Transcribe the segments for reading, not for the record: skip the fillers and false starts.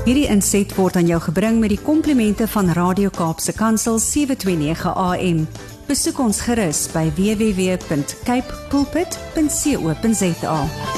Hierdie inset word aan jou gebring met die komplimente van Radio Kaapse Kansel 729 AM. Besoek ons gerus by www.capepulpit.co.za.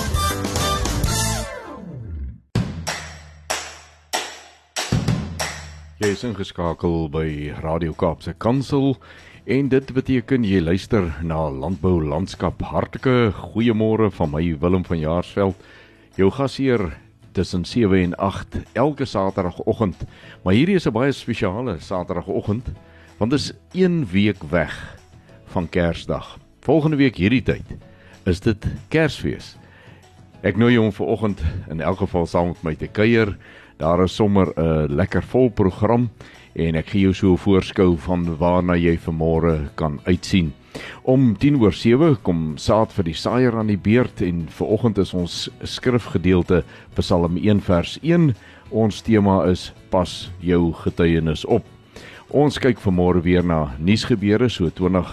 Jy is ingeskakel by Radio Kaapse Kansel en dit beteken jy luister na Landbou Landskap. Hartlike goeiemôre van my Willem van Jaarsveld. Jou gasheer tussen 7 en 8 elke saterdagoggend. Maar hierdie is 'n baie spesiale saterdagoggend want dit is 1 week weg van Kersdag. Volgende week hierdie tyd is dit Kersfees. Ek nooi jou om vanoggend in elk geval saam met my te kuier. Daar is sommer 'n lekker vol program en ek gee jou so 'n voorskou van waarna jy vanmôre kan uitsien. Om 7:10 kom Saad vir die Saaier aan die beurt en vanoggend is ons skrifgedeelte Psalm 1 vers 1. Ons tema is pas jou getuienis op. Ons kyk vanmôre weer na nuusgebeure so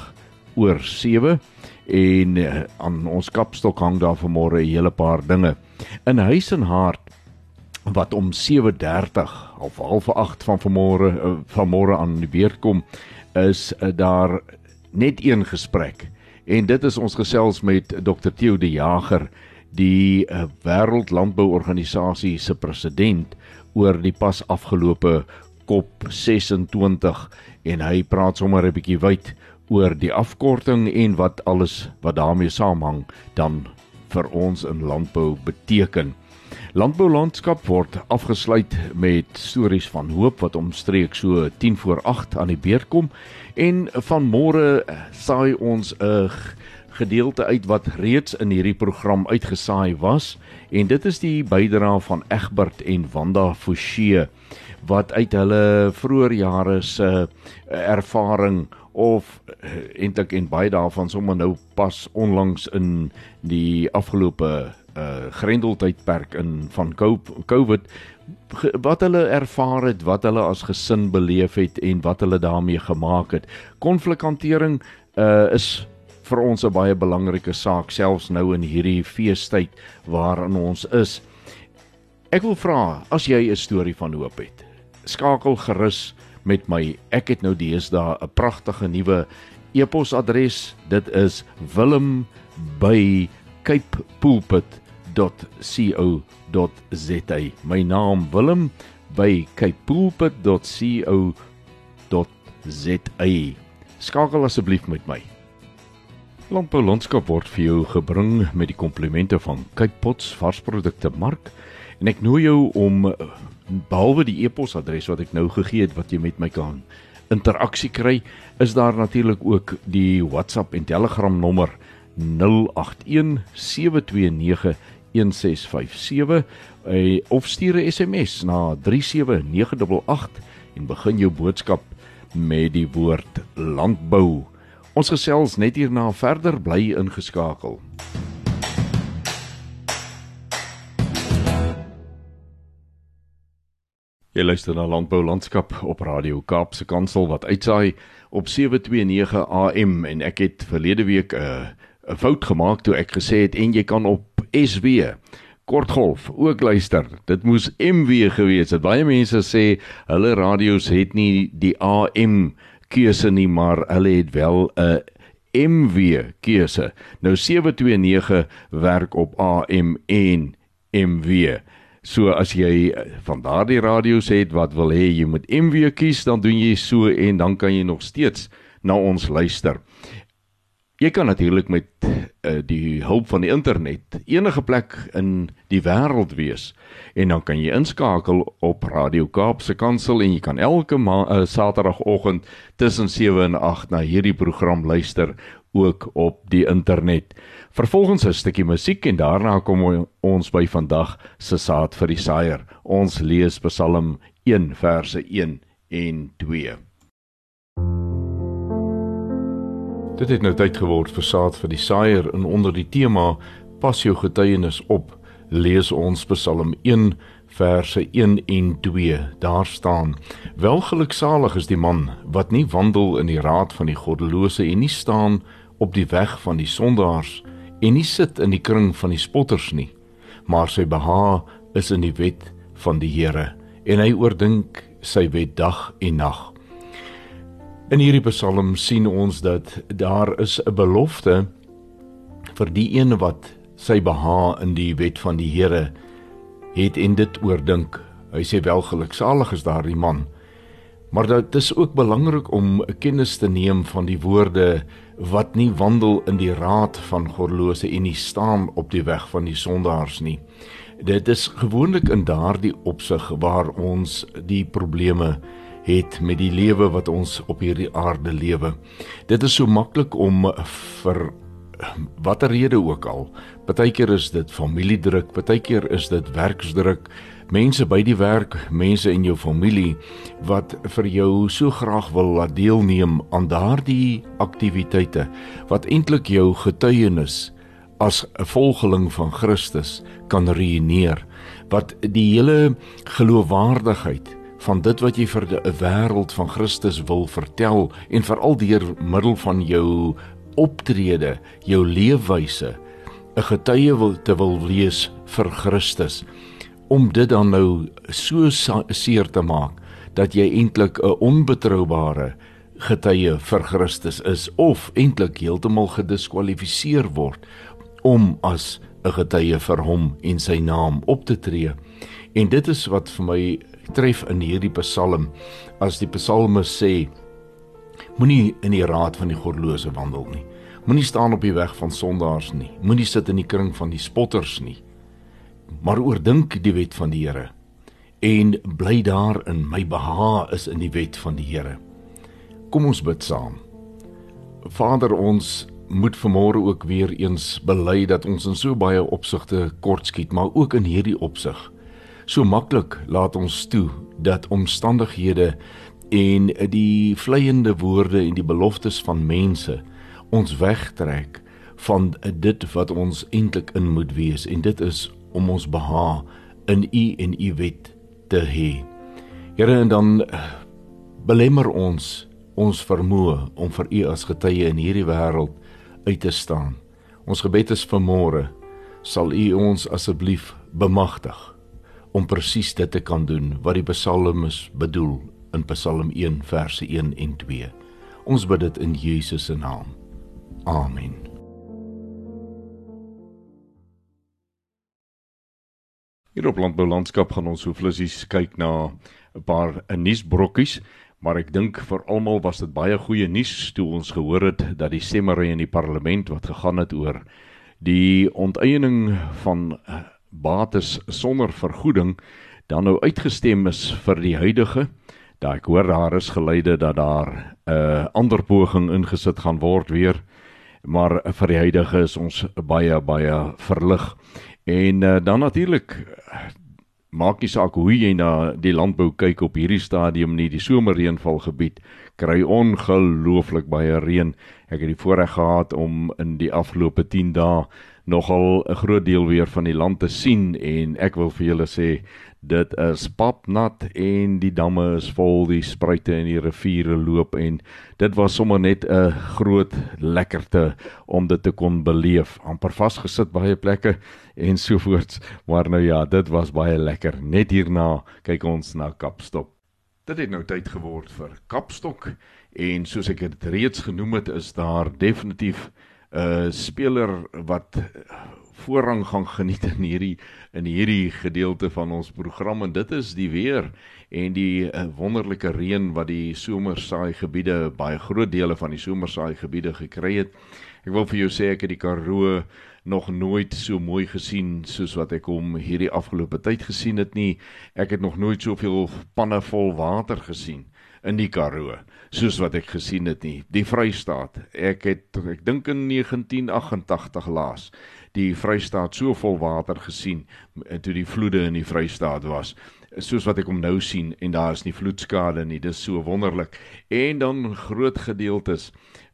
7:20 en aan ons kapstok hang daar vanmôre 'n hele paar dinge. In Huis en Hart wat om 7:30 of 7:30 van vanmôre aan die beurt kom, is daar net een gesprek. En dit is ons gesels met Dr. Theo de Jager, die Wêreldlandbouorganisasie se president, oor die pas afgelope COP26 en hy praat sommer 'n bietjie wyd oor die afkorting en wat alles wat daarmee saamhang dan vir ons in landbou beteken. Landbou Landskap word afgesluit met stories van hoop wat omstreeks so 7:50 aan die beurt kom en vanmôre saai ons 'n gedeelte uit wat reeds in hierdie program uitgesaai was en dit is die bydrae van Egbert en Wanda Forsie wat uit hulle vroeë jare se ervaring of eintlik en baie daarvan sommer nou pas onlangs in die afgelope grendeltydperk van COVID, wat hulle ervaar het, wat hulle as gesin beleef het en wat hulle daarmee gemaak het. Konflikhantering is vir ons 'n baie belangrike saak, selfs nou in hierdie feestyd waarin ons is. Ek wil vra, as jy 'n storie van hoop het, skakel gerus met my. Ek het nou deesdae 'n pragtige nuwe e-posadres. Dit is willem@capepulpit.co.za. My naam willem@capepulpit.co.za. Skakel asseblief met my. Landbou Landskap word vir jou gebring met die komplimente van Cape Pots varsprodukte mark en ek nooi jou om behalwe die e-posadres wat ek nou gegee het wat jy met my kan interaksie kry, is daar natuurlik ook die WhatsApp en Telegram nommer 081-729-1657 of stuur 'n SMS na 37988 en begin jou boodskap met die woord landbou. Ons gesels net hierna verder, bly ingeskakel. Jy luister na Landbou Landskap op Radio Kaapse Kansel wat uitsaai op 729 AM en ek het verlede week 'n fout gemaak toe ek gesê het en jy kan op SW kortgolf ook luister. Dit moes MW gewees het. Baie mense sê hulle radio's het nie die AM keuse nie, maar hulle het wel 'n MW keuse. Nou 729 werk op AM en MW. So as jy van daardie radio's het wat wil hê jy moet MW kies, dan doen jy so en dan kan jy nog steeds na ons luister. Jy kan natuurlik met die hulp van die internet enige plek in die wêreld wees en dan kan jy inskakel op Radio Kaapse Kansel en jy kan elke saterdagoggend tussen 7 en 8 na hierdie program luister, ook op die internet. Vervolgens 'n stukkie musiek en daarna kom ons by vandag se Saad vir die Saaier. Ons lees Psalm 1 verse 1 en 2. Dit het nou tyd geword vir Saad vir die Saaier en onder die tema Pas jou getuienis op, lees ons Psalm 1 verse 1 en 2. Daar staan: Welgeluksalig is die man wat nie wandel in die raad van die goddelose en nie staan op die weg van die sondaars en nie sit in die kring van die spotters nie, maar sy behaag is in die wet van die Here en hy oordink sy wet dag en nag. In hierdie Psalm sien ons dat daar is 'n belofte vir die een wat sy behaag in die wet van die Here het en dit oordink. Hy sê welgeluksalig is daardie man. Maar dit is ook belangrik om kennis te neem van die woorde wat nie wandel in die raad van goddelose en nie staan op die weg van die sondaars nie. Dit is gewoonlik in daardie opsig waar ons die probleme het met die lewe wat ons op hierdie aarde lewe. Dit is so maklik om vir watter rede ook al. Partykeer is dit familiedruk, partykeer is dit werksdruk, mense by die werk, mense in jou familie wat vir jou so graag wil laat deelneem aan daardie aktiwiteite wat eintlik jou getuienis as 'n volgeling van Christus kan ruïneer, wat die hele geloofwaardigheid van dit wat jy vir 'n wêreld van Christus wil vertel en veral deur middel van jou optrede, jou leefwyse, 'n getuie te wil wees vir Christus, om dit dan nou so seer te maak, dat jy eintlik 'n onbetroubare getuie vir Christus is, of eintlik heeltemal gediskwalifiseer word, om as 'n getuie vir hom en sy naam op te tree. En dit is wat vir my tref in hierdie Psalm, as die psalmis sê, moenie in die raad van die goddelose wandel nie, moenie staan op die weg van sondaars nie, moenie sit in die kring van die spotters nie, maar oordink die wet van die Here, en bly daarin. My behaag is in die wet van die Here. Kom ons bid saam. Vader, ons moet vanmôre ook weer eens bely dat ons in so baie opsigte kortskiet, maar ook in hierdie opsig. So maklik laat ons toe dat omstandighede en die vleiende woorde en die beloftes van mense ons wegtrek van dit wat ons eintlik in moet wees, en dit is om ons behaag in U en U wet te hê. Here, en dan belemmer ons vermoë om vir U as getuie in hierdie wêreld uit te staan. Ons gebed is vanmôre, sal U ons asseblief bemagtig om presies dit te kan doen wat die psalmis bedoel in Psalm 1 verse 1 en 2. Ons bid dit in Jesus se naam. Amen. Hier op Landbou Landskap gaan ons so flissies kyk na 'n paar nuusbrokkies, maar ek dink vir almal was dit baie goeie nuus toe ons gehoor het dat die stemmery in die parlement wat gegaan het oor die onteiening van bates sonder vergoeding dan nou uitgestem is vir die huidige. Daar ek hoor daar is geluide dat daar 'n ander poging ingesit gaan word weer, maar vir die huidige is ons baie verlig. En dan natuurlik maak nie saak hoe jy na die landbou kyk op hierdie stadium nie, die somerreënvalgebied kry ongelooflik baie reën. Ek het die voorreg gehad om in die afgelope 10 dae nogal 'n groot deel weer van die land te sien, en ek wil vir julle sê, dit is papnat en die damme is vol, die spruite en die riviere loop, en dit was sommer net 'n groot lekkerte om dit te kon beleef. Amper vasgesit baie plekke en sovoorts, maar nou ja, dit was baie lekker. Net hierna kyk ons na Kapstok. Dit het nou tyd geword vir Kapstok, en soos ek dit reeds genoem het, is daar definitief 'n speler wat voorrang gaan geniet in hierdie gedeelte van ons program, en dit is die weer en die wonderlike reën wat die somersaaigebiede, baie groot dele van die somersaaigebiede gekry het. Ek wil vir jou sê, ek het die Karoo nog nooit so mooi gesien soos wat ek hom hierdie afgelope tyd gesien het nie. Ek het nog nooit soveel panne vol water gesien in die Karoo soos wat ek gesien het nie. Die Vrystaat, ek dink in 1988 laas die Vrystaat so vol water gesien toe die vloede in die Vrystaat was, soos wat ek hom nou sien, en daar is nie vloedskade nie. Dis so wonderlik. En dan groot gedeeltes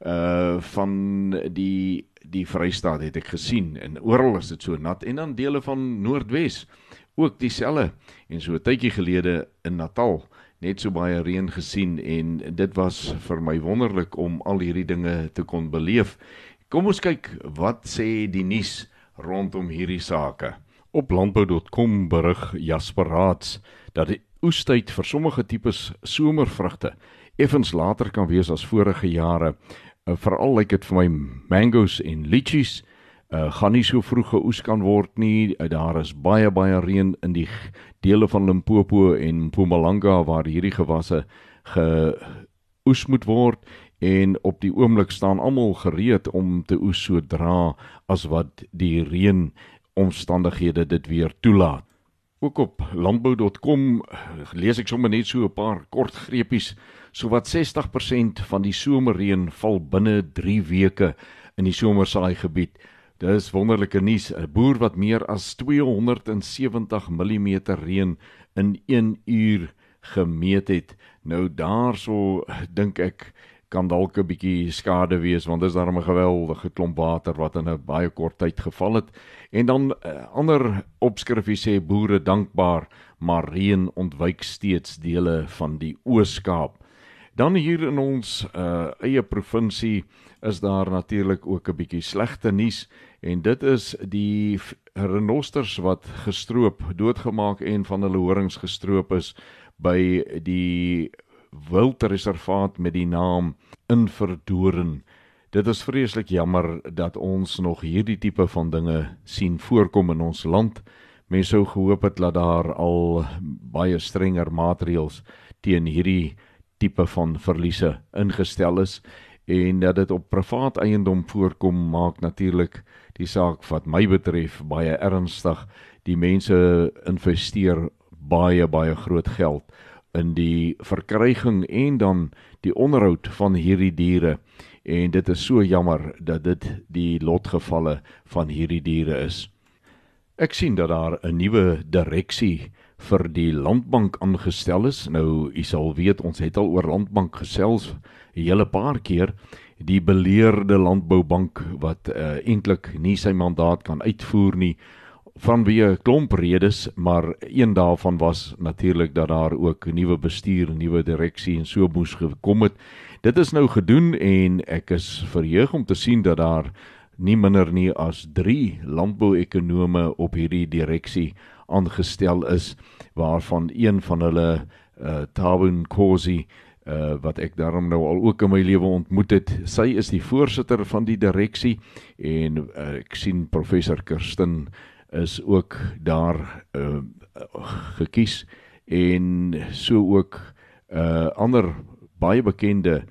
van die Vrystaat het ek gesien, en oral is dit so nat, en dan dele van Noordwes ook dieselfde, en so 'n tydjie gelede in Natal net so baie reën gesien, en dit was vir my wonderlik om al hierdie dinge te kon beleef. Kom ons kyk, wat sê die nuus rondom hierdie sake? Op landbou.com berig Jasper Raats dat oestyd vir sommige tipes somervrugte effens later kan wees as vorige jare. Veral lyk dit vir my mangoes en lychees gaan nie so vroeg geoes kan word nie. Daar is baie reën in die dele van Limpopo en Mpumalanga waar hierdie gewasse geoes moet word, en op die oomblik staan almal gereed om te oes sodra as wat die reënomstandighede dit weer toelaat. Ook op landbou.com lees ek sommer net so 'n paar kort greepies. Sowat 60% van die somerreën val binne 3 weke in die somersaaigebied. Dis wonderlike nuus. 'n Boer wat meer as 270 mm reën in 1 uur gemeet het. Nou daarso dink ek kan dalk 'n bietjie skade wees, want dis daarom 'n geweldige klomp water wat in 'n baie kort tyd geval het. En dan ander opskrifie sê boere dankbaar, maar reën ontwyk steeds dele van die Oos-Kaap. Dan hier in ons eie provinsie is daar natuurlik ook 'n bietjie slegte nuus, en dit is die renosters wat gestroop, doodgemaak en van hulle horings gestroop is by die wildreservaat met die naam Inverdoren. Dit is vreeslik jammer dat ons nog hierdie tipe van dinge sien voorkom in ons land. Mense sou gehoop het dat daar al baie strenger maatreëls teen hierdie tipe van verliese ingestel is, en dat dit op privaat eiendom voorkom, maak natuurlik die saak wat my betref baie ernstig. Die mense investeer baie groot geld in die verkryging en dan die onderhoud van hierdie diere, en dit is so jammer dat dit die lotgevalle van hierdie diere is. Ek sien dat daar 'n nuwe direksie vir die Landbank aangestel is. Nou, u sal weet, ons het al oor Landbank gesels 'n hele paar keer. Die beleerde landboubank wat eintlik nie sy mandaat kan uitvoer nie, vanweë 'n klomp redes, maar een daarvan was natuurlik dat daar ook 'n nuwe bestuur, 'n nuwe direksie en so moes gekom het. Dit is nou gedoen, en ek is verheug om te sien dat daar nie minder nie as 3 landbouekonome op hierdie direksie aangestel is, waarvan een van hulle Thabo Nkosi, wat ek daarom nou al ook in my lewe ontmoet het. Sy is die voorsitter van die direksie, en ek sien professor Kirsten is ook daar gekies, en so ook ander baie bekende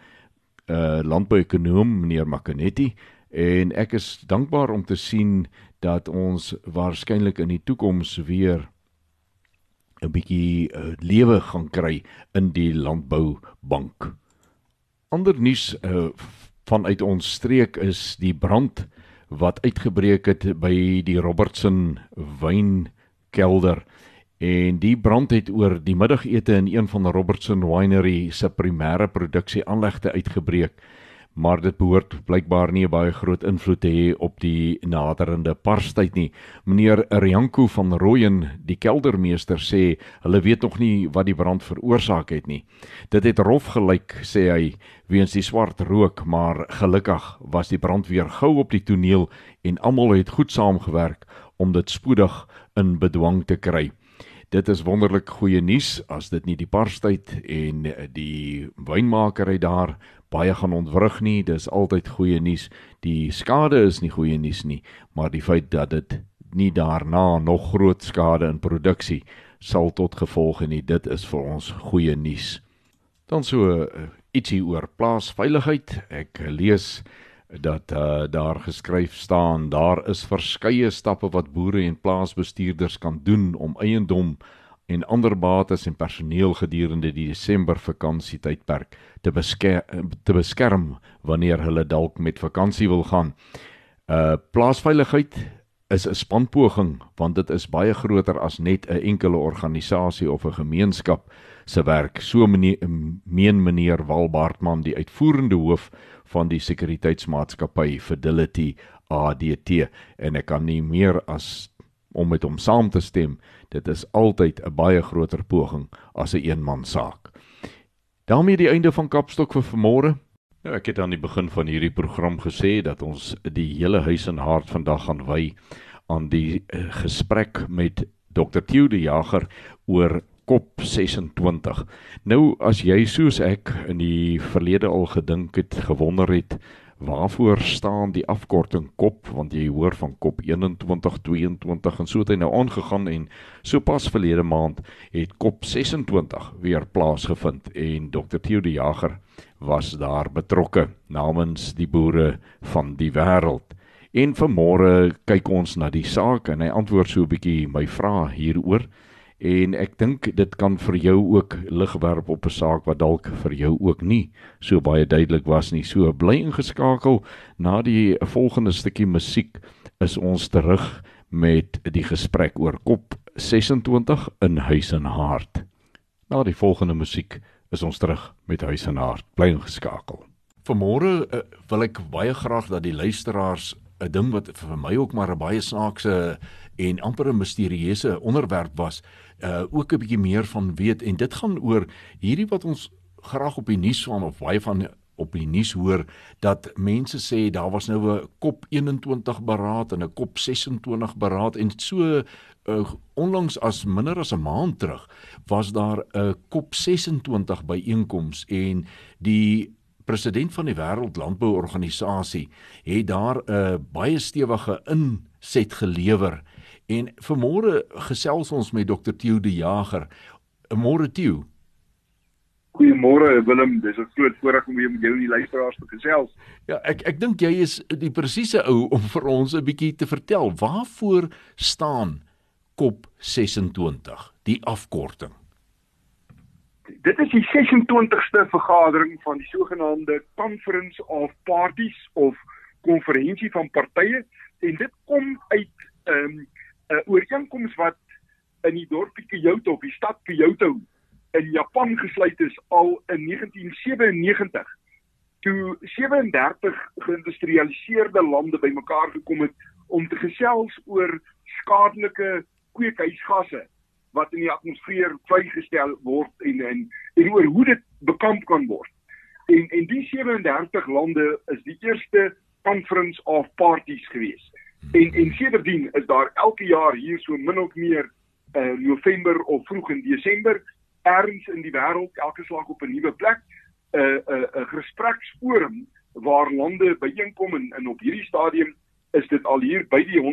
landbouekonoom, meneer Makanetti, en ek is dankbaar om te sien dat ons waarskynlik in die toekoms weer 'n bietjie lewe gaan kry in die landboubank. Ander nuus vanuit ons streek is die brand wat uitgebreek het by die Robertson wynkelder, en die brand het oor die middagete in een van die Robertson Winery se primêre produksieaanlegte uitgebreek, maar dit behoort blykbaar nie 'n baie groot invloed te hê op die naderende Parstyd nie. Meneer Rianko van Rooyen, die keldermeester, sê hulle weet nog nie wat die brand veroorsaak het nie. Dit het rof gelyk, sê hy, weens die swart rook, maar gelukkig was die brandweer gou op die toneel en almal het goed saamgewerk om dit spoedig in bedwang te kry. Dit is wonderlik goeie nuus as dit nie die Parstyd en die wynmakerry daar baie gaan ontwrig nie. Dis altyd goeie nuus. Die skade is nie goeie nuus nie, maar die feit dat dit nie daarna nog groot skade in produksie sal tot gevolg nie, dit is vir ons goeie nuus. Dan so ietsie oor plaasveiligheid. Ek lees dat daar geskryf staan, daar is verskeie stappe wat boere en plaasbestuurders kan doen om eiendom en ander bates en personeel gedurende die Desember vakansietydperk te beskerm wanneer hulle dalk met vakansie wil gaan. Plaasveiligheid is 'n spanpoging, want dit is baie groter as net 'n enkele organisasie of 'n gemeenskap se werk. So meen meneer Walbaartman, die uitvoerende hoof van die sekuriteitsmaatskappy Fidelity ADT, en ek kan nie meer as om met hom saam te stem. Dit is altyd 'n baie groter poging as 'n eenmansaak. Daarmee die einde van Kapstok vir vanmôre. Nou, ek het aan die begin van hierdie program gesê dat ons die hele huis en hart vandag gaan wy aan die gesprek met Dr. Theo de Jager oor COP26. Nou, as jy soos ek in die verlede al gedink het, gewonder het, waarvoor staan die afkorting COP, want jy hoor van COP 21, 22 en so het hy nou aangegaan en so pas verlede maand het COP 26 weer plaasgevind en Dr. Theo de Jager was daar betrokke namens die boere van die wêreld. En vanmôre kyk ons na die saak en hy antwoord so 'n bietjie my vrae hieroor. En ek dink dit kan vir jou ook lig werp op 'n saak wat dalk vir jou ook nie so baie duidelik was nie. So bly ingeskakel. Na die volgende stukkie musiek is ons terug met die gesprek oor COP 26 in Huis en Hart. Na die volgende musiek is ons terug met Huis en Hart. Bly ingeskakel. Vanmôre wil ek baie graag dat die luisteraars 'n ding wat vir my ook maar 'n baie snaakse en amper 'n misterieuse onderwerp was, ook 'n bietjie meer van weet, en dit gaan oor hierdie wat ons graag op die nuus van of baie van op die nuus hoor, dat mense sê daar was nou 'n COP 21 beraad en 'n COP 26 beraad en so onlangs as minder as 'n maand terug was daar 'n COP 26 byeenkoms en die president van die Wêreldlandbouorganisasie het daar 'n baie stewige inset gelewer. En vanmôre gesels ons met Dr. Theo de Jager. Môre Theo. Goeiemôre Willem, dis 'n groot voorreg om weer met jou en die luisteraars te gesels. Ja, ek dink jy is die presiese ou om vir ons 'n bietjie te vertel. Waarvoor staan COP 26, die afkorting? Dit is die 26ste vergadering van die sogenaamde Conference of Parties of konferensie van partye en dit kom uit 'n ooreenkoms wat in die dorpie Kyoto of die stad Kyoto in Japan gesluit is al in 1997 toe 37 geïndustrialiseerde lande bymekaar gekom het om te gesels oor skadelike kweekhuisgasse wat in die atmosfeer vrygestel word en oor hoe dit bekamp kan word. En die 37 lande is die eerste Conference of Parties gewees. En sedertdien is daar elke jaar hier so min of meer November of vroeg in Desember ergens in die wêreld, elke slag op 'n nuwe plek, 'n gespreksforum waar lande byeenkom en op hierdie stadium is dit al hier by die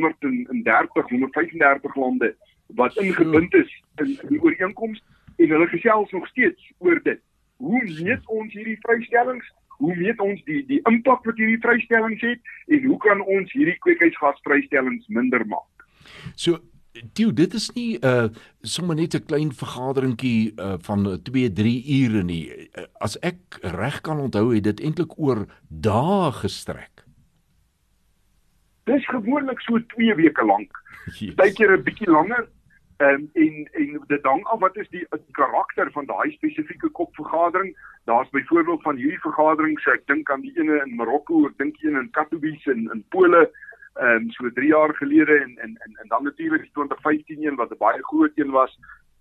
135 lande wat ingebind is in die ooreenkoms en hulle gesels nog steeds oor dit. Hoe meet ons hierdie vrystellings? Hoe meet ons die impak wat hierdie vrystellings het en hoe kan ons hierdie kweekhuisgasvrystellings minder maak? So Theo, dit is nie sommer net 'n klein vergaderingkie van 2-3 ure nie. As ek reg kan onthou, het dit eintlik oor dae gestrek. Dis gewoonlik so 2 weke lank. Partykeer 'n bietjie langer. En dit hang af wat is die karakter van daai spesifieke COP-vergadering. Daar's byvoorbeeld van hierdie vergaderings, ek dink aan die ene in Marokko, ek dink een in Katowice in Pole, so 3 jaar gelede en dan natuurlik die 2015 een wat 'n baie groot een was,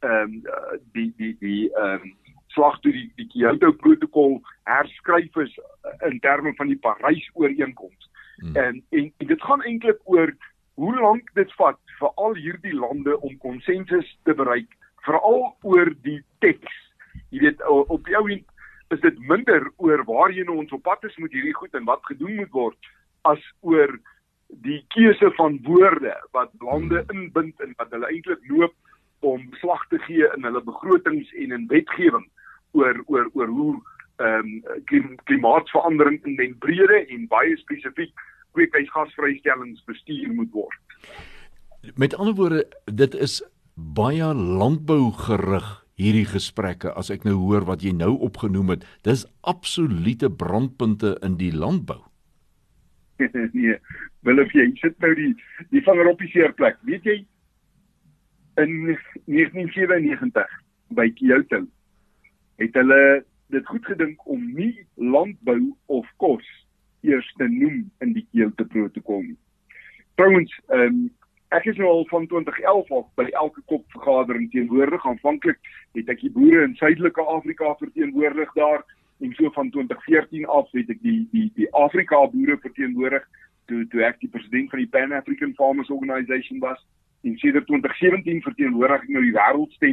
die slag toe die Kyoto-protokol herskryf is in terme van die Parys-ooreenkoms. En dit gaan eintlik oor hoe lank dit vat vir al hierdie lande om konsensus te bereik, veral oor die teks. Jy weet, op die ou end is dit minder oor waarheen ons op pad is met hierdie goed en wat gedoen moet word, as oor die keuse van woorde wat lande inbind en wat hulle eintlik loop om beslag te gee in hulle begrotings en in wetgewing oor hoe klimaatsverandering in den brede en baie spesifiek kweekhuisgasvrystellings bestuur moet word. Met ander woorde, dit is baie landbou gerig hierdie gesprekke, as ek nou hoor wat jy nou opgenoem het. Dis absolute brandpunte in die landbou. Nee, Willem, jy sit nou die vinger op die seerplek. Weet jy, in 1997 by Kyoto het hulle dit goed gedink om nie landbou of kos eers te noem in die Kyoto-protokol nie. Trouwens, ek is nou al van 2011 af by elke COP-vergadering teenwoordig. Aanvanklik het ek die boere in Suidelike Afrika verteenwoordig daar, en so van 2014 af het ek die Afrika boere verteenwoordig, toe ek die president van die Pan-African Farmers Organization was, en sedert 2017 verteenwoordig ek nou die wêreldstem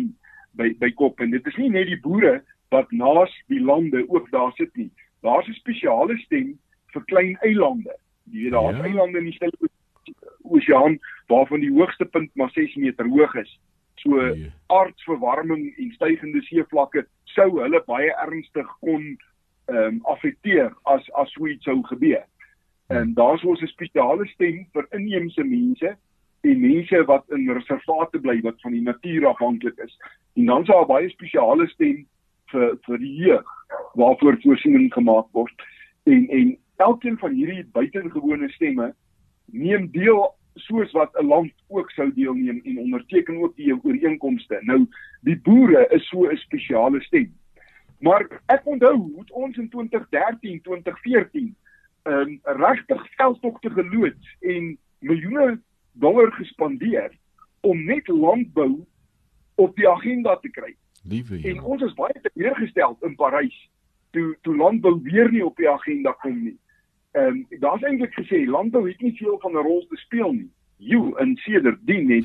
by kop. En dit is nie net die boere wat naas die lande ook daar sit nie. Daar's 'n spesiale stem vir klein eilande. Jy weet, daar's eilande in die Stille Oseaan waarvan die hoogste punt maar 6 meter hoog is. So aardverwarming en stygende seevlakke sou hulle baie ernstig kon affekteer as so iets sou gebeur. En daar's ons 'n spesiale stem vir inheemse mense en mense wat in reservate bly wat van die natuur afhanklik is. En dan is daar 'n baie spesiale stem vir die jeug waarvoor voorsiening gemaak word. En elkeen van hierdie buitengewone stemme neem deel soos wat 'n land ook sou deelneem en onderteken ook die ooreenkomste. Nou, die boere is so 'n spesiale stem. Maar ek onthou hoe ons in 2013, 2014 regtig veldtogte geloods en miljoene dollar gespandeer om net landbou op die agenda te kry. En ons is baie teleurgestel in Parys toe landbou weer nie op die agenda kom nie. Daar's eintlik gesê landbou het nie veel van 'n rol te speel nie. En sedertdien het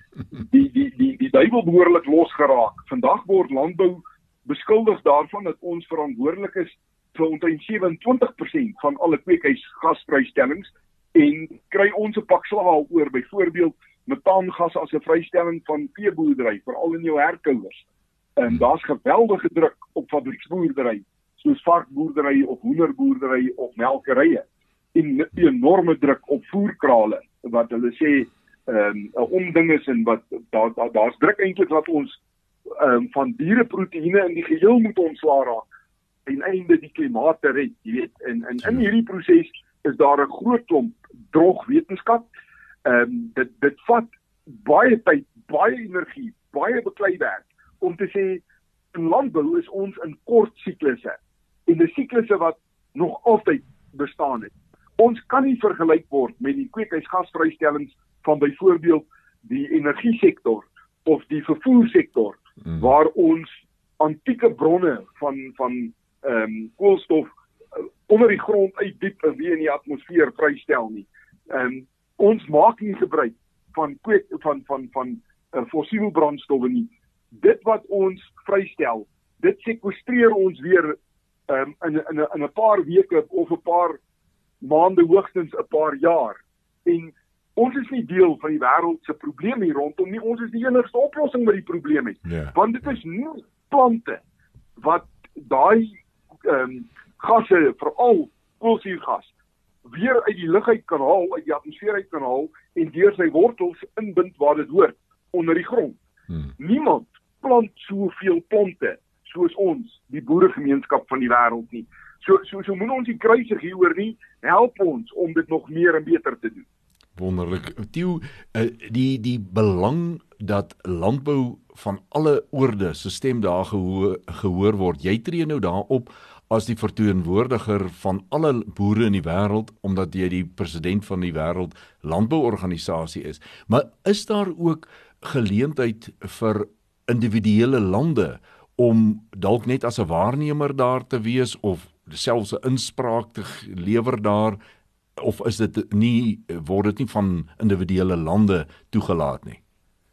die duiwel behoorlik losgeraak. Vandag word landbou beskuldig daarvan dat ons verantwoordelik is vir omtrent 27% van alle kweekhuisgasvrystellings en kry ons 'n pak slaag oor, byvoorbeeld metaangas as 'n vrystelling van veeboerdery, veral in jou herkouers. Daar's geweldige druk op fabrieksboerdery, soos varkboerdery of hoenderboerdery of melkerye, en enorme druk op voerkrale, wat hulle sê 'n onding is en wat daar's druk eintlik dat ons van diereproteïene in die geheel moet ontslaa raak en einde die klimaat te red, jy weet. En in hierdie proses is daar 'n groot klomp droog wetenskap. Dit vat baie tyd, baie energie, baie beklei werk om te sê in landbou is ons in kort siklusse en die siklusse wat nog altyd bestaan het. Ons kan nie vergelyk word met die kweekhuisgasvrystellings van byvoorbeeld die energiesektor of die vervoersektor waar ons antieke bronne van koolstof onder die grond uit diep en weer in die atmosfeer vrystel nie. Ons maak nie gebruik van fossiele brandstowwe nie. Dit wat ons vrystel, dit sekwestreer ons weer in 'n paar weke of 'n paar maande, hoogstens 'n paar jaar. En ons is nie deel van die wêreld se probleem hier rondom nie. Ons is die enigste oplossing met die probleem het. Want dit is nie plante wat daai gasse, veral koolsuurgas, weer uit die lug uit kan haal, uit die atmosfeer uit kan haal en deur sy wortels inbind waar dit hoort, onder die grond. Niemand plant soveel plante soos ons, die boeregemeenskap van die wêreld nie. So moet ons die kruisig hieroor nie, help ons om dit nog meer en beter te doen. Wonderlik. Theo, die belang dat landbou van alle oorde se stem daar gehoor word. Jy tree nou daarop as die verteenwoordiger van alle boere in die wêreld, omdat jy die president van die wêreld landbouorganisasie is. Maar is daar ook geleentheid vir individuele lande om dalk net as 'n waarnemer daar te wees of selfs 'n inspraak te lewer daar, of is dit nie, word dit nie van individuele lande toegelaat nie?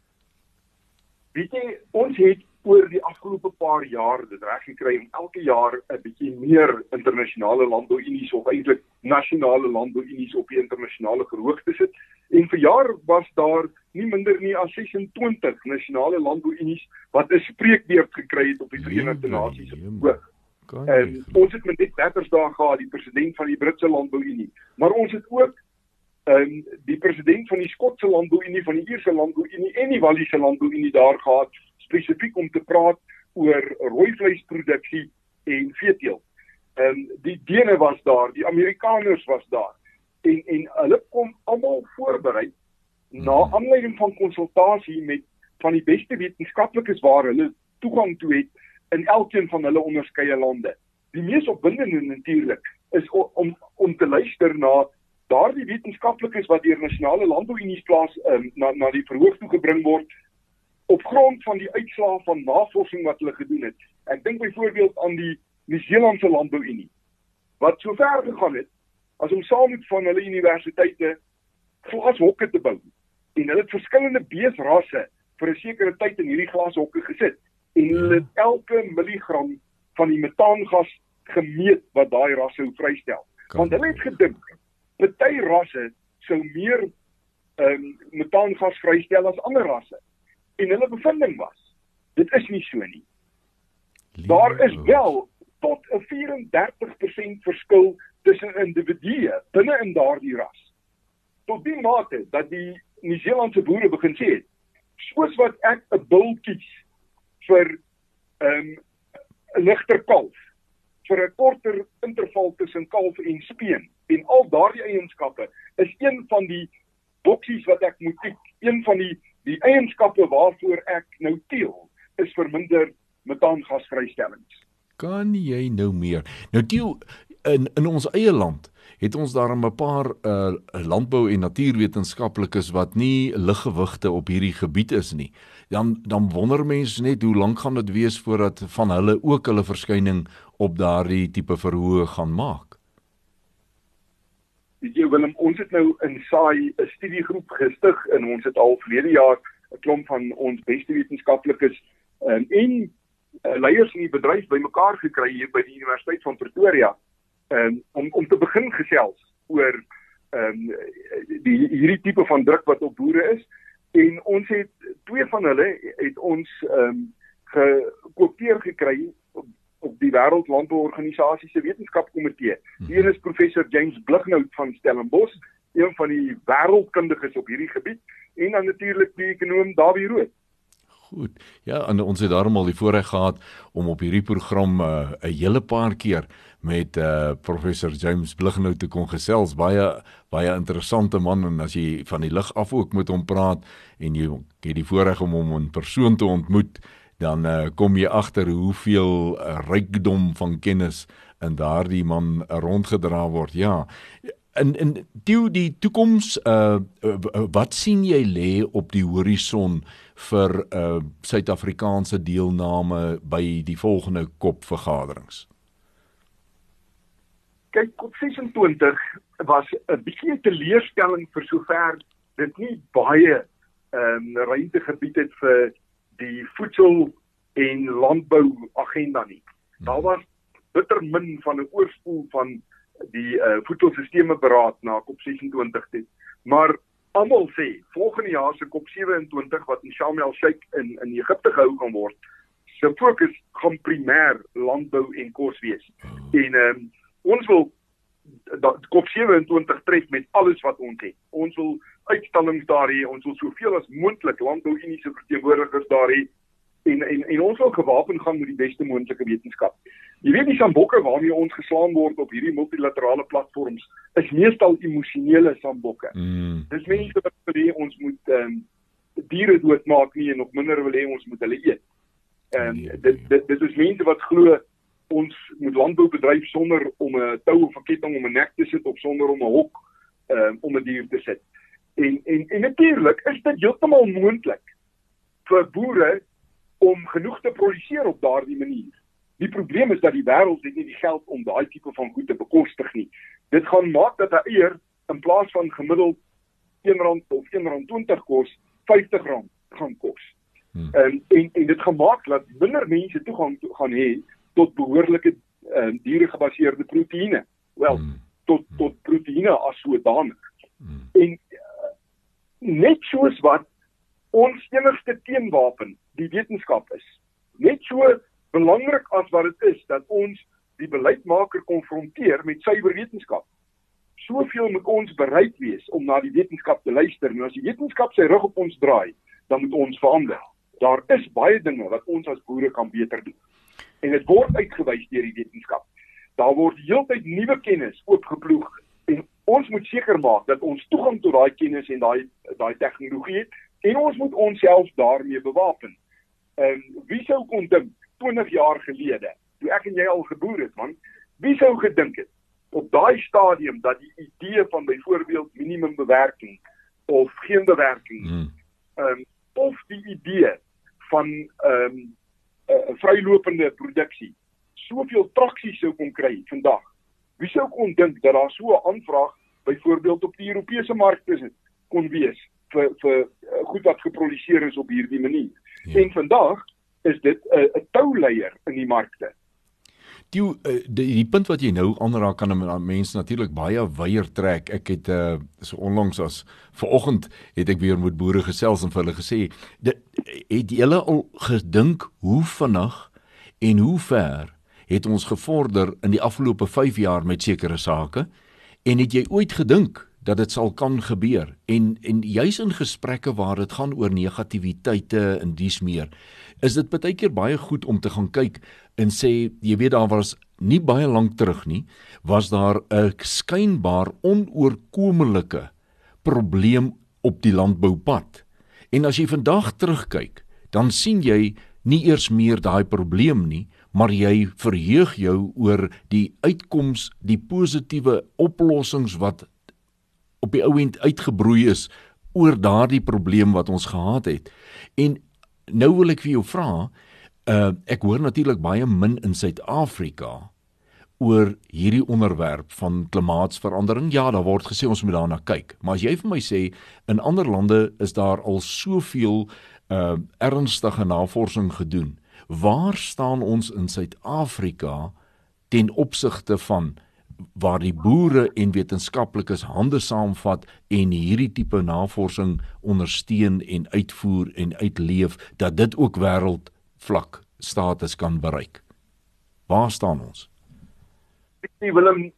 Weet jy, ons het oor die afgelope paar jaar dit reg gekry om elke jaar 'n bietjie meer internasionale landbouunies of eintlik nasionale landbouunies op die internasionale verhoog te sit. En vir jaar was daar nie minder nie as 26 nasionale landbouunies wat 'n spreekbeurt gekry het op die Verenigde Nasies verhoog. Ons het met dit Battersdag gehad, die president van die Britse Landbouunie, maar ons het ook die president van die Skotse Landbouunie, van die Ierse Landbouunie en die Walliese Landbouunie daar gehad, spesifiek om te praat oor rooivleisproduksie en veeteelt. Die Dene was daar, die Amerikaners was daar, en hulle kom almal voorberei na aanleiding van konsultasie met van die beste wetenskaplikes waar hulle toegang toe het in elkeen van hulle onderskeie lande. Die mees opwindende natuurlik is om te luister na daardie wetenskaplikes wat deur nasionale landbouunies plaas na die verhoog toe gebring word op grond van die uitslae van navorsing wat hulle gedoen het. Ek dink byvoorbeeld aan die Nieu-Seelandse Landbouunie wat so ver gegaan het as om saam met van hulle universiteite glashokke te bou. En hulle het verskillende beesrasse vir 'n sekere tyd in hierdie glashokke gesit. en hulle het elke milligram van die metaangas gemeet wat daai rasse vrystel. Want hulle het gedink, party rasse sou meer metaangas vrystel as ander rasse. En hulle bevinding was, dit is nie so nie. Daar is wel tot 'n 34% verskil tussen individue binne in daardie ras. Tot die mate dat die Nieu-Seelandse boere begin sê het, soos wat ek 'n bul kies vir 'n ligter kalf, vir 'n korter interval tussen kalf en speen, en al daardie eienskappe is een van die boksies wat ek moet tik, een van die eienskappe waarvoor ek nou teel, is verminder metaangasvrystellings. Kan jy nou meer? Nou Theo, in ons eie land het ons daar 'n paar landbou- en natuurwetenskaplikes wat nie liggewigte op hierdie gebied is nie. Dan wonder mense net hoe lank gaan dit wees voordat van hulle ook hulle verskyning op daardie tipe verhoë gaan maak. Weet jy Willem, ons het nou in SAI 'n studiegroep gestig en ons het al verlede jaar 'n klomp van ons beste wetenskaplikes en leiers in die bedryf bymekaar gekry hier by die Universiteit van Pretoria om te begin gesels oor hierdie tipe van druk wat op boere is, en ons het twee van hulle het ons gekoopteer gekry op die Wêreldlandbouorganisasie se wetenskapkomitee. Die een is professor James Blighnout van Stellenbosch, een van die wêreldkundiges op hierdie gebied, en dan natuurlik die ekonoom Dawie Rood. Goed, ja, en ons het daarom al die voorreg gehad om op hierdie program 'n hele paar keer met professor James Blighnout te kon gesels, baie interessante man, en as jy van die lig af ook met hom praat, en jy het die voorreg om hom in persoon te ontmoet, dan kom jy agter hoeveel rykdom van kennis in daardie man rondgedra word, ja. En die toekoms, wat sien jy lê op die horison vir Suid-Afrikaanse deelname by die volgende COP-vergaderings? Kyk, COP26 was 'n bietjie 'n teleurstelling vir sover dit nie baie ruimte gebied het vir die voedsel- en landbouagenda nie. Daar was bitter min van 'n oorspoel van die voedselsystemeberaad na COP26 dit. Maar almal sê, volgende jaar se COP27 wat in Sharm el-Sheikh in Egipte gehou gaan word, se fokus gaan primêr landbou en kos wees. En ons wil COP27 tref met alles wat ons het. Ons wil uitstallings daar hê, ons wil soveel as moontlik landbou-uniese verteenwoordigers daar hê, en ons wil gewapen gaan met die beste moontlike wetenskap. Jy weet, die sambokke waarmee ons geslaan word op hierdie multilaterale platforms is meestal emosionele sambokke. Dis mense wat wil hê ons moet diere doodmaak nie, en nog minder wil hê ons moet hulle eet. Dit is mense wat glo ons moet landbou bedryf sonder om 'n tou of 'n ketting om 'n nek te sit, of sonder om 'n hok om 'n dier te sit. En natuurlik is dit heeltemal moontlik vir boere om genoeg te produseer op daardie manier. Die probleem is dat die wêreld het nie die geld om daai tipe van goed te bekostig nie. Dit gaan maak dat 'n eier in plaas van gemiddeld R1 of R1.20 kos, R50 gaan kos. En dit gaan maak dat minder mense toegang gaan hê tot behoorlike dieregebaseerde proteïene. Wel, tot proteïene as sodanig. En net soos wat ons enigste teenwapen die wetenskap is, net so belangrik as wat dit is dat ons die beleidsmaker konfronteer met suiwer wetenskap. Soveel moet ons bereid wees om na die wetenskap te luister, en as die wetenskap sy rug op ons draai, dan moet ons verander. Daar is baie dinge wat ons as boere kan beter doen. En dit word uitgewys deur die wetenskap. Daar word heeltyd nuwe kennis oopgeploeg, en ons moet seker maak dat ons toegang tot daai kennis en daai tegnologie het, en ons moet onsself daarmee bewapen. Wie sou kon dink 20 jaar gelede, toe ek en jy al geboor het, man, wie sou gedink het op daai stadium dat die idee van byvoorbeeld minimumbewerking of geen bewerking, of die idee van vrylopende produksie soveel traksie sou kon kry vandag. Wie sou kon dink dat daar so 'n aanvraag byvoorbeeld op die Europese markte kon wees vir goed wat geproduseer is op hierdie manier. En vandag is dit 'n touleier in die markte. Die punt wat jy nou aanraak kan 'n mens natuurlik baie wyer trek. Ek het so onlangs as vanoggend het ek weer met boere gesels en vir hulle gesê, het julle al gedink hoe vinnig en hoe ver het ons gevorder in die afgelope 5 jaar met sekere sake, en het jy ooit gedink dat dit sal kan gebeur, en juis in gesprekke waar dit gaan oor negativiteite en dies meer, is dit baie keer baie goed om te gaan kyk en sê, jy weet, daar was nie baie lank terug nie, was daar 'n skynbaar onoorkomelike probleem op die landboupad, en as jy vandag terugkyk, dan sien jy nie eers meer daai probleem nie, maar jy verheug jou oor die uitkoms, die positiewe oplossings wat op die ou end uitgebroei is oor daardie probleem wat ons gehad het. En nou wil ek vir jou vra, ek hoor natuurlik baie min in Suid-Afrika oor hierdie onderwerp van klimaatsverandering. Ja, daar word gesê ons moet daarna kyk, maar as jy vir my sê, in ander lande is daar al soveel ernstige navorsing gedoen, waar staan ons in Suid-Afrika ten opsigte van waar die boere en wetenskaplikes hande saamvat en hierdie tipe navorsing ondersteun en uitvoer en uitleef, dat dit ook wêreldvlak status kan bereik? Waar staan ons? Willem,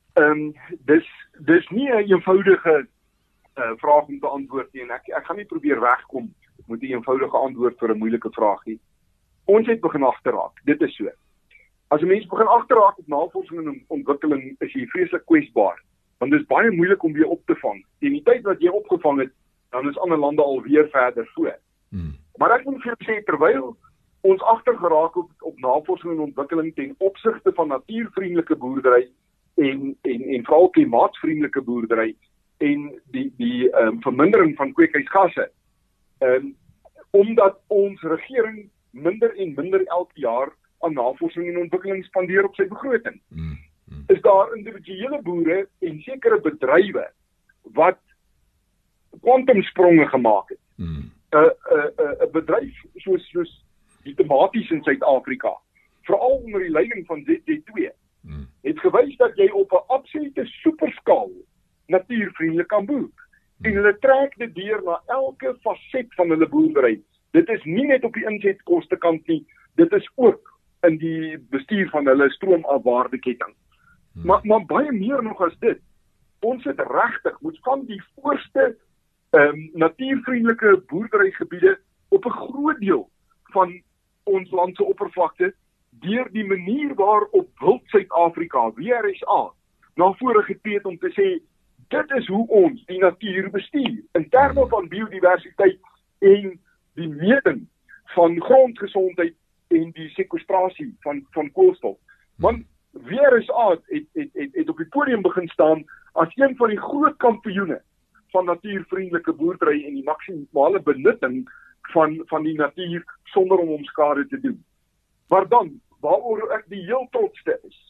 dis nie 'n eenvoudige vraag om te antwoord nie, en ek gaan nie probeer wegkom met 'n eenvoudige antwoord vir 'n moeilike vraag nie. Ons het begin agterraak, dit is so. As 'n mens begin agterraak op navorsing en ontwikkeling, is jy vreeslik kwesbaar, want dit is baie moeilik om weer op te vang. En die tyd wat jy opgevang het, dan is ander lande alweer verder voor. Maar ek moet vir jou sê, terwyl ons agtergeraak op navorsing en ontwikkeling ten opsigte van natuurvriendelike boerdery en veral klimaatsvriendelike boerdery en die vermindering van kweekhuisgasse, omdat ons regering minder en minder elke jaar aan navorsing en ontwikkeling spandeer op sy begroting. Is daar individuele boere en sekere bedrywe wat kwantumspronge gemaak het. 'n bedryf soos die tomaties in Suid-Afrika, veral onder die leiding van ZD2, het gewys dat jy op 'n absolute superskaal natuurvriendelik kan boer. En hulle trek dit deur na elke faset van hulle boerdery. Dit is nie net op die insetkoste kant nie, dit is ook in die bestuur van hulle stroomafwaardeketting. Maar baie meer nog as dit. Ons het regtig moet van die voorste natuurvriendelike boerderygebiede op 'n groot deel van ons land se oppervlakte deur die manier waarop Wild Suid-Afrika, WRSA, na vore getree het om te sê, dit is hoe ons die natuur bestuur, in terme van biodiversiteit en die meting van grondgesondheid en die sekwestrasie van koolstof. Want WRSA het op die podium begin staan as een van die groot kampioene van natuurvriendelike boerdery en die maksimale benutting van die natuur sonder om skade te doen. Maar dan, waaroor ek die heel trotste is,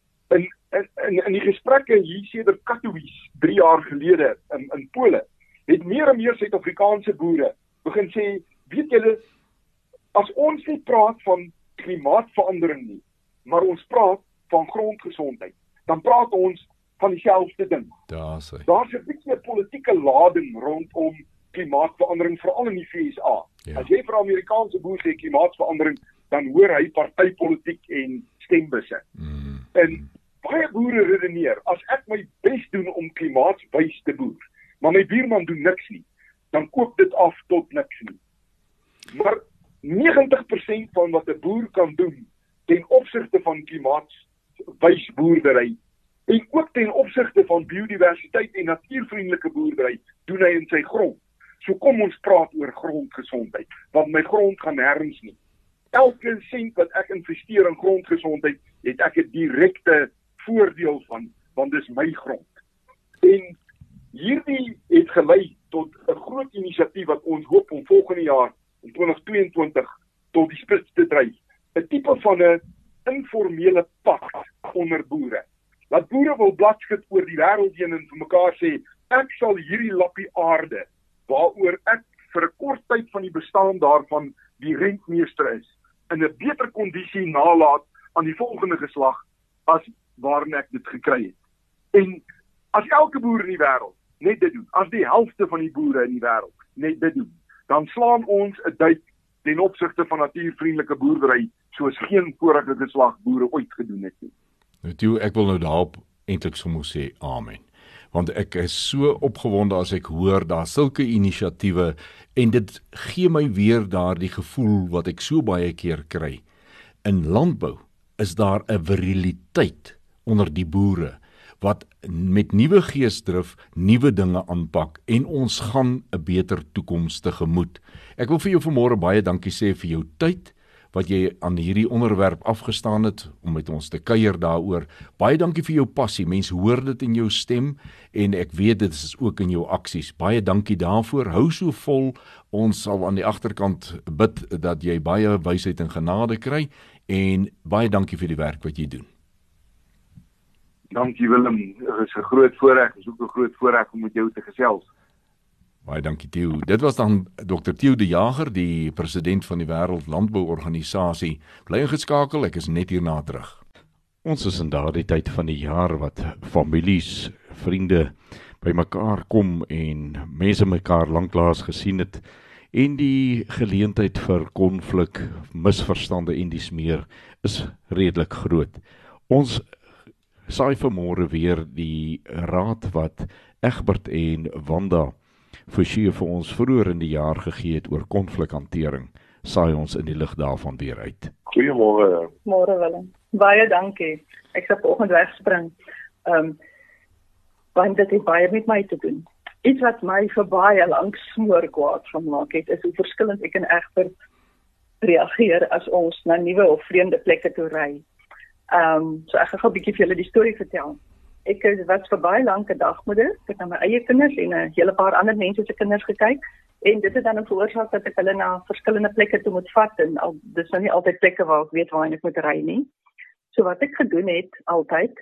in die gesprekke hier sedert Katowice 3 jaar gelede in Pole, het meer en meer Suid-Afrikaanse boere begin sê, weet julle, as ons nie praat van klimaatverandering nie, maar ons praat van grondgesondheid, dan praat ons van dieselfde ding. Daar's 'n bietjie 'n politieke lading rondom klimaatverandering, veral in die VSA. As jy vir 'n Amerikaanse boer sê klimaatverandering, dan hoor hy partytetiek en stembusse. En baie boere redeneer, as ek my bes doen om klimaatswys te boer, maar my buurman doen niks nie, dan koop dit af tot niks nie. Maar 90% van wat 'n boer kan doen ten opsigte van klimaatswys boerdery en ook ten opsigte van biodiversiteit en natuurvriendelike boerdery doen hy in sy grond. So kom ons praat oor grondgesondheid, want my grond gaan nêrens nie. Elke sent wat ek investeer in grondgesondheid, het ek 'n direkte voordeel van, want dis my grond. En hierdie het gelei tot 'n groot inisiatief wat ons hoop om volgende jaar, in 2022, tot die spits te dryf. 'n tipe van 'n informele pakt onder boere. Dat boere wil bladskit oor die wêreld heen en vir mekaar sê, ek sal hierdie lappie aarde, waaroor ek vir 'n kort tyd van die bestaan daarvan die rentmeester is, in 'n beter kondisie nalaat aan die volgende geslag as waarin ek dit gekry het. En as elke boer in die wêreld net dit doen, as die helfte van die boere in die wêreld net dit doen, dan slaan ons 'n duik ten opsigte van natuurvriendelike boerdery soos geen vorige geslag boere ooit gedoen het nie. Nou toe, ek wil nou daarop eintlik sommer sê amen. Want ek is so opgewonde as ek hoor daar sulke inisiatiewe en dit gee my weer daardie gevoel wat ek so baie keer kry. In landbou is daar 'n viriliteit onder die boere wat met nuwe geesdrif nuwe dinge aanpak en ons gaan 'n beter toekoms tegemoet. Ek wil vir jou vanmôre baie dankie sê vir jou tyd wat jy aan hierdie onderwerp afgestaan het om met ons te kuier daaroor. Baie dankie vir jou passie. Mense hoor dit in jou stem en ek weet dit is ook in jou aksies. Baie dankie daarvoor. Hou so vol. Ons sal aan die agterkant bid dat jy baie wysheid en genade kry en baie dankie vir die werk wat jy doen. Dankie Willem, dit is 'n groot voorreg, is ook 'n groot voorreg om met jou te gesels. Baie dankie Theo. Dit was dan Dr. Theo de Jager, die president van die Wêreld Landbouorganisasie. Bly ingeskakel, ek is net hierna terug. Ons is in daardie tyd van die jaar wat families, vriende bymekaar kom en mense mekaar lanklaas gesien het en die geleentheid vir konflik, misverstande en dies meer is redelik groot. Ons saai vanmôre weer die raad wat Egbert en Wanda Forsie vir ons vroeër in die jaar gegee het oor konflikhantering, saai ons in die lig daarvan weer uit. Goeiemôre. Môre Willem. Baie dankie. Ek sal vanoggend wegspring. Want dit het baie met my te doen. Iets wat my vir baie lank smoorkwaad gemaak het, is hoe verskillend ek en Egbert reageer as ons na nuwe of vreemde plekke toe ry. So ek gaan 'n bietjie vir julle die storie vertel. Ek was vir baie lank 'n dagmoeder. Ek het na my eie kinders en 'n hele paar ander mense se kinders gekyk en dit het dan veroorsaak dat ek hulle na verskillende plekke toe moet vat en dis nou nie altyd plekke waar ek weet waar ek moet ry nie. So wat ek gedoen het altyd,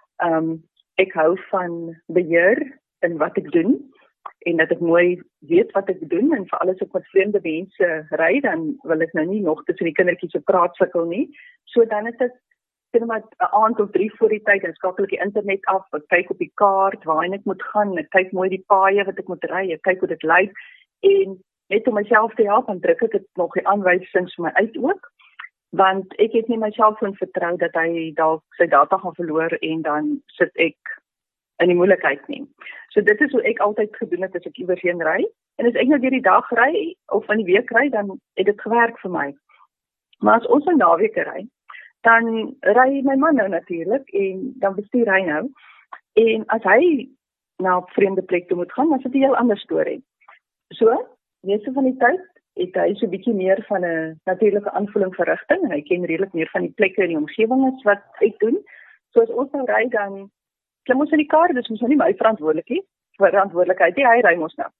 ek hou van beheer in wat ek doen en dat ek mooi weet wat ek doen en veral as ek met vreemde mense ry, dan wil ek nou nie nog tussen die kindertjies se praat sukkel nie. So dan is dit maar 'n aand of 3 voor die tyd en skakel ek die internet af, ek kyk op die kaart waarheen ek moet gaan, ek kyk mooi die paaie wat ek moet ry, ek kyk hoe dit lyk en net om myself te help, dan druk ek dit nog die aanwysings vir my uit ook, want ek het nie my selfoon vertrou dat hy dalk sy data gaan verloor en dan sit ek in die moeilikheid nie. So dit is hoe ek altyd gedoen het as ek iewers heen ry en as ek nou deur die dag ry of in die week ry, dan het dit gewerk vir my. Maar as ons 'n naweek ry, dan ry my man nou natuurlik en dan bestuur hy nou. En as hy na 'n vreemde plek toe moet gaan, dan is dit 'n heel ander storie. So, meeste van die tyd het hy so 'n bietjie meer van 'n natuurlike aanvoeling vir rigting en hy ken redelik meer van die plekke en die omgewing as wat ek doen. So as ons nou ry, dan klim ons in die kar, dis mos nou nie my verantwoordelikheid nie, hy ry mos nou.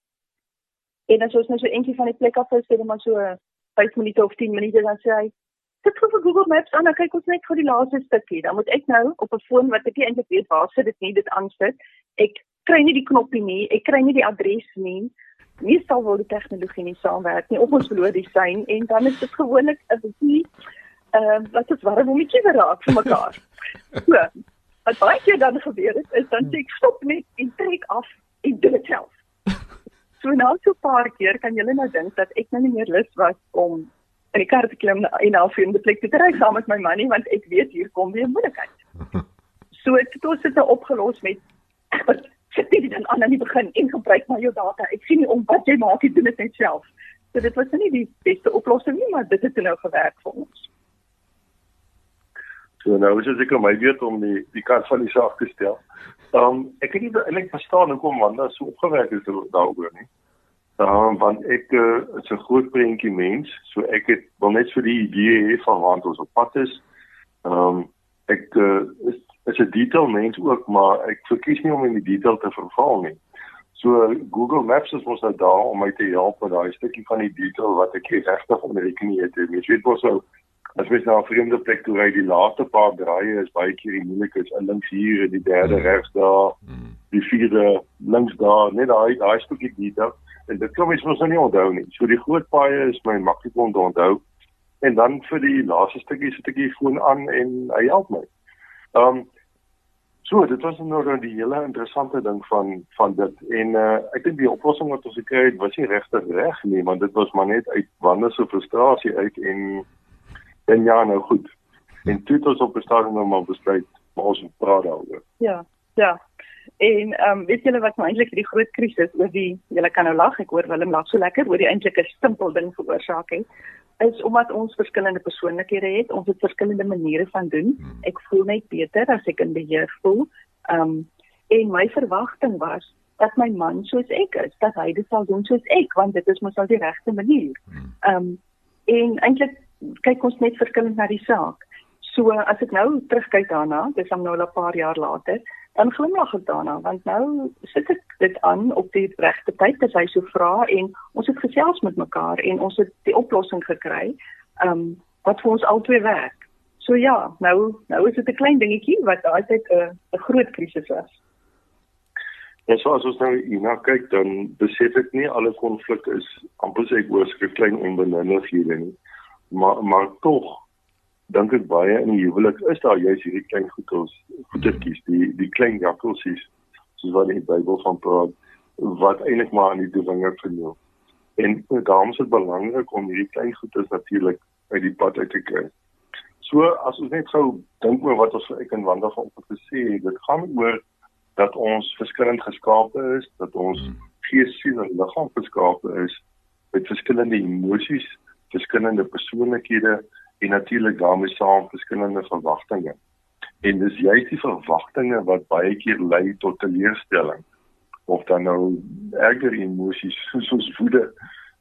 En as ons nou so eentjie van die plek af is, dan maar so 5 minute of 10 minute, dan sê hy, sit vir Google Maps aan, dan kyk ons net vir die laaste stukkie. Dan moet ek nou op 'n foon wat ek nie eintlik weet waar sit dit nie, dit aansit. Ek kry nie die knoppie nie, ek kry nie die adres nie. Meestal wil die tegnologie nie saamwerk nie, of ons verloor die sein en dan is dit gewoonlik 'n bietjie wat is warm om ietjie raak vir mekaar. So, wat baie keer dan gebeur het, is dan sê ek stop net en trek af en doen dit self. So nou so 'n paar keer kan julle nou dink dat ek nou nie meer lus was om in die kar te klim en na 'n vreemde plek te ry saam met my man nie, want ek weet hier kom weer moeilikheid. So het ons dit opgelos met sit dit dan aan die begin en gebruik maar jou data. Ek sien nie om wat jy maak, jy doen dit net self. So dit was nie die beste oplossing nie, maar dit het nou gewerk vir ons. So nou is dit seker my weet om die kant van die saak te stel. Ek het nie eintlik verstaan hoekom Wanda so opgewek is daaroor nie. Want ek is 'n groot prentjie mens, so ek wil net so die idee hê van waar ons op pad is. Ek is 'n detail mens ook, maar ek verkies nie om in die detail te verval nie. So Google Maps is ons nou daar om my te help met daai stukkie van die detail wat ek regtig onder rekening het. Jy weet mos nou, as mens na 'n vreemde plek toe ry, die laaste paar draaie is baie keer die moeilikheid, links hier, die derde regs daar, die vierde links daar, net daai stukkie detail. En dit kan mens mos nou nie onthou nie. So die groot paaie is my maklik om te onthou. En dan vir die laaste stukkie sit ek die foon aan en hy help my. So, dit was nou die hele interessante ding van dit. En ek dink die oplossing wat ons gekry het, was nie regtig reg nie, want dit was maar net uit Wanda se frustrasie uit en ja, nou goed. En toe het ons op 'n stadium nou maar besluit, maar ons moet praat daaroor. Ja. En weet julle wat nou eintlik die groot krisis oor julle kan nou lag, ek hoor Willem lag so lekker, oor die eintlik 'n simpel ding veroorsaak het, is omdat ons verskillende persoonlikhede het, ons het verskillende maniere van doen. Ek voel net beter as ek in beheer voel. En my verwagting was dat my man soos ek is, dat hy dit sal doen soos ek, want dit is mos al die regte manier. En eintlik kyk ons net verskillend na die saak. So as ek nou terugkyk daarna, dis nou al 'n paar jaar later, dan glimlag ek daarna, want nou sit ek dit aan op die regte tyd as hy so vra en ons het gesels met mekaar en ons het die oplossing gekry wat vir ons albei werk. So ja, nou is dit 'n klein dingetjie wat altyd 'n groot krisis was. En so as ons nou hierna kyk, dan besef ek nie alle konflik is amper sê ek oorskry klein onbenullighede nie. Maar tog dink ek baie in die huwelik is daar juist hierdie klein goedertjies, die klein jakkelsies, soos wat die Bybel van praat, wat eintlik maar aan die doewinger vernoem. En daarom is dit belangrik om hierdie klein goeders natuurlik uit die pad uit te kry. So as ons net gou dink oor wat ons ek en Wanda vanoggend gesê het, dit gaan oor dat ons verskillend geskape is, dat ons gees, siel en liggaam geskape is met verskillende emosies, verskillende persoonlikhede en natuurlik daarmee saam verskillende verwagtinge. En dis juist die verwagtinge wat baie keer lei tot teleurstelling of dan nou erger emosies soos woede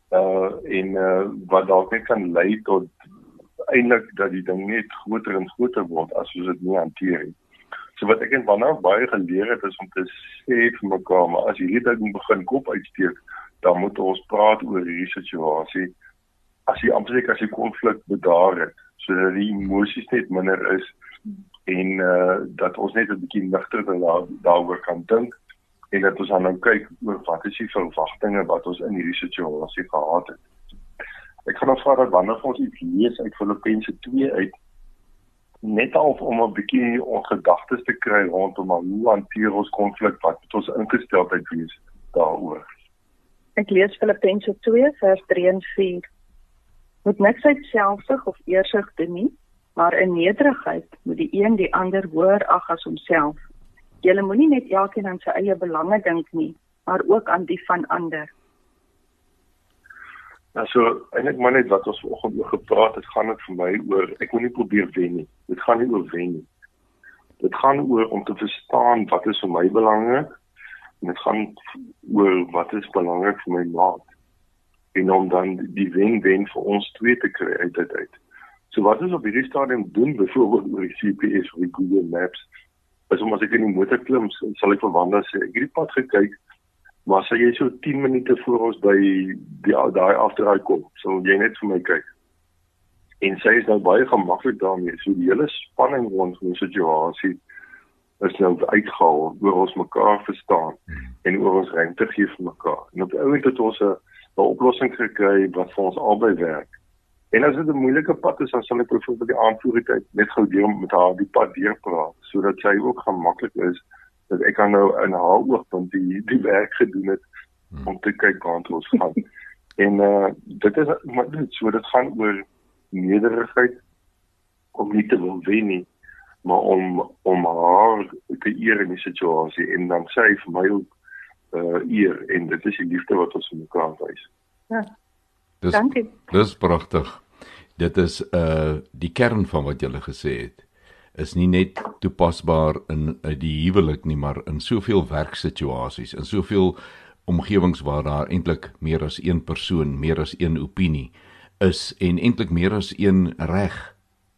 wat dalk net kan lei tot eintlik dat die ding net groter en groter word as ons dit nie hanteer nie. So wat ek en Wanda baie geleer het is om te sê vir mekaar, maar as hierdie ding begin kop uitsteek, dan moet ons praat oor hierdie situasie. As die konflik bedaar het, sodat die emosies net minder is en dat ons net 'n bietjie ligter daaroor kan dink en dat ons dan nou kyk oor wat is die verwagtinge wat ons in hierdie situasie gehad het. Ek gaan nou vra dat Wanda vir ons iets lees uit Filippense 2 uit, net om 'n bietjie ons gedagtes te kry rondom hoe hanteer ons konflik, wat moet ons ingesteldheid wees daaroor. Ek lees Filippense 2 vers 3 en 4. Moet niks uit selfsug of eersug doen nie, maar in nederigheid moet die een die ander hoër ag as homself. Julle moenie net elkeen aan sy eie belange dink nie, maar ook aan die van ander. Nou so, eintlik maar net wat ons vanoggend oor gepraat het, gaan dit vir my oor, ek moet nie probeer wen nie. Dit gaan nie oor wen nie. Dit gaan oor om te verstaan wat is vir my belangrik, en dit gaan oor wat is belangrik vir my maat. En om dan die wen-wen vir ons twee te kry uit dit uit. So wat ons op hierdie stadium doen, byvoorbeeld oor die GPS of die Google Maps, is om as ek in die motor klim, sal ek vir Wanda sê, ek het die pad gekyk, maar sal jy so 10 minute voor ons by daai afdraai kom, sal jy net vir my kyk. En sy is nou baie gemaklik daarmee, so die hele spanning rond die situasie is nou uitgehaal, oor ons mekaar verstaan, en oor ons ruimte gee vir mekaar. En op die ouend het ons 'n oplossing gekry wat vir ons albei werk. En as dit 'n moeilike pad is, dan sal ek byvoorbeeld die aanvoertyd net gou deur met haar die pad deurpraat, sodat sy ook gemaklik is, dat ek kan nou in haar oogpunt die werk gedoen het, om te kyk waar ons gaan. En dit is, maar dit gaan oor nederigheid, om nie te wil wen nie, maar om haar te eer in die situasie, en dan sy vir my ook eer, en dit is die liefde wat ons in mekaar wys. Ja. Dankie. Dis pragtig. Dit is die kern van wat jy gesê het, is nie net toepasbaar in die huwelik nie, maar in soveel werksituasies, in soveel omgewings waar daar eintlik meer as een persoon, meer as een opinie is, en eintlik meer as een reg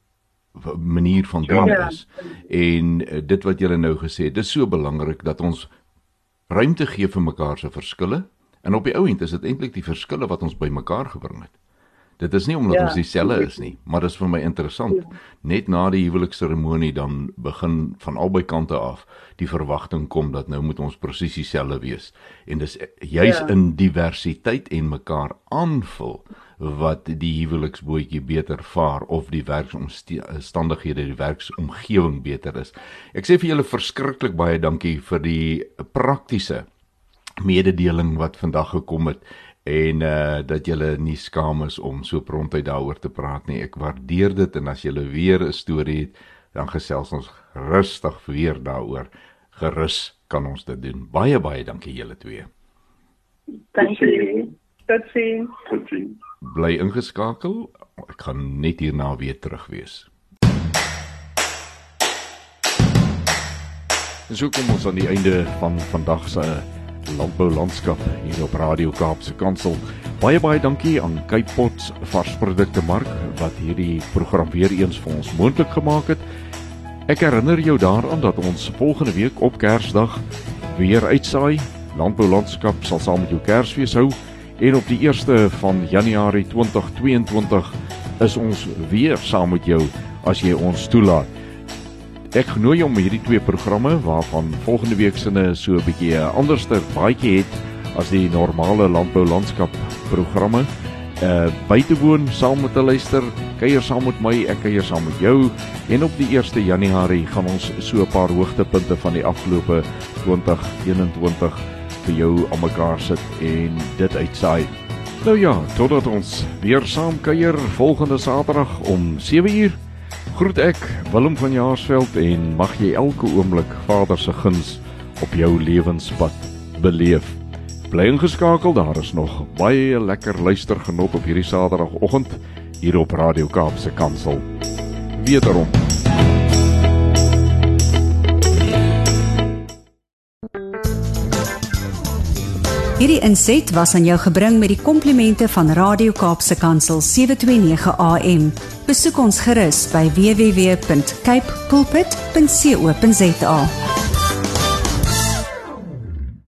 manier van doen is. En dit wat jy nou gesê het, dis so belangrik dat ons ruimte gee vir mekaar se verskille, en op die ou end is dit eintlik die verskille wat ons by mekaar gebring het. Dit is nie omdat ons dieselfde is nie, maar dit is vir my interessant. Net na die huwelikseremonie dan begin van albei kante af die verwagting kom dat nou moet ons presies dieselfde wees. En dis juis in diversiteit en mekaar aanvul wat die huweliksbootjie beter vaar of die werksomstandighede, die werksomgewing beter is. Ek sê vir julle verskriklik baie dankie vir die praktiese mededeling wat vandag gekom het en dat julle nie skaam is om so prontuit daaroor te praat nie. Ek waardeer dit en as julle weer 'n storie het, dan gesels ons rustig weer daaroor. Gerus kan ons dit doen. Baie, baie dankie julle twee. Dankie. Tot sien. Bly ingeskakel. Ek gaan net hierna weer terug wees. En so kom ons aan die einde van vandag se landboulandskap hier op Radio Kaapse Kansel. Baie, baie dankie aan Cape Pots varsprodukte mark wat hierdie program weer eens vir ons moontlik gemaak het. Ek herinner jou daaraan dat ons volgende week op Kersdag weer uitsaai. Landboulandskap sal saam met jou Kersfees hou en op die 1ste van Januarie 2022 is ons weer saam met jou as jy ons toelaat. Ek genooi jou om hierdie twee programme waarvan volgende week sinne so 'n bietjie 'n anderster baadjie het as die normale landboulandskap programme by te woon, saam met te luister, kuier saam met my, ek kuier saam met jou en op die 1ste Januarie gaan ons so 'n paar hoogtepunte van die afgelope 2021 vir jou aan mekaar sit en dit uitsaai. Nou ja, totdat ons weer saam kuier volgende Saterdag om 7:00. Groet ek, Willem van Jaarsveld en mag jy elke oomblik Vader se guns op jou lewenspad beleef. Bly ingeskakel, daar is nog baie lekker luistergenot op hierdie Saterdagoggend hier op Radio Kaapse Kansel. Wederom. Hierdie inset was aan jou gebring met die komplimente van Radio Kaapse Kansel 729 AM. Besoek ons gerus by www.cape pulpit.co.za.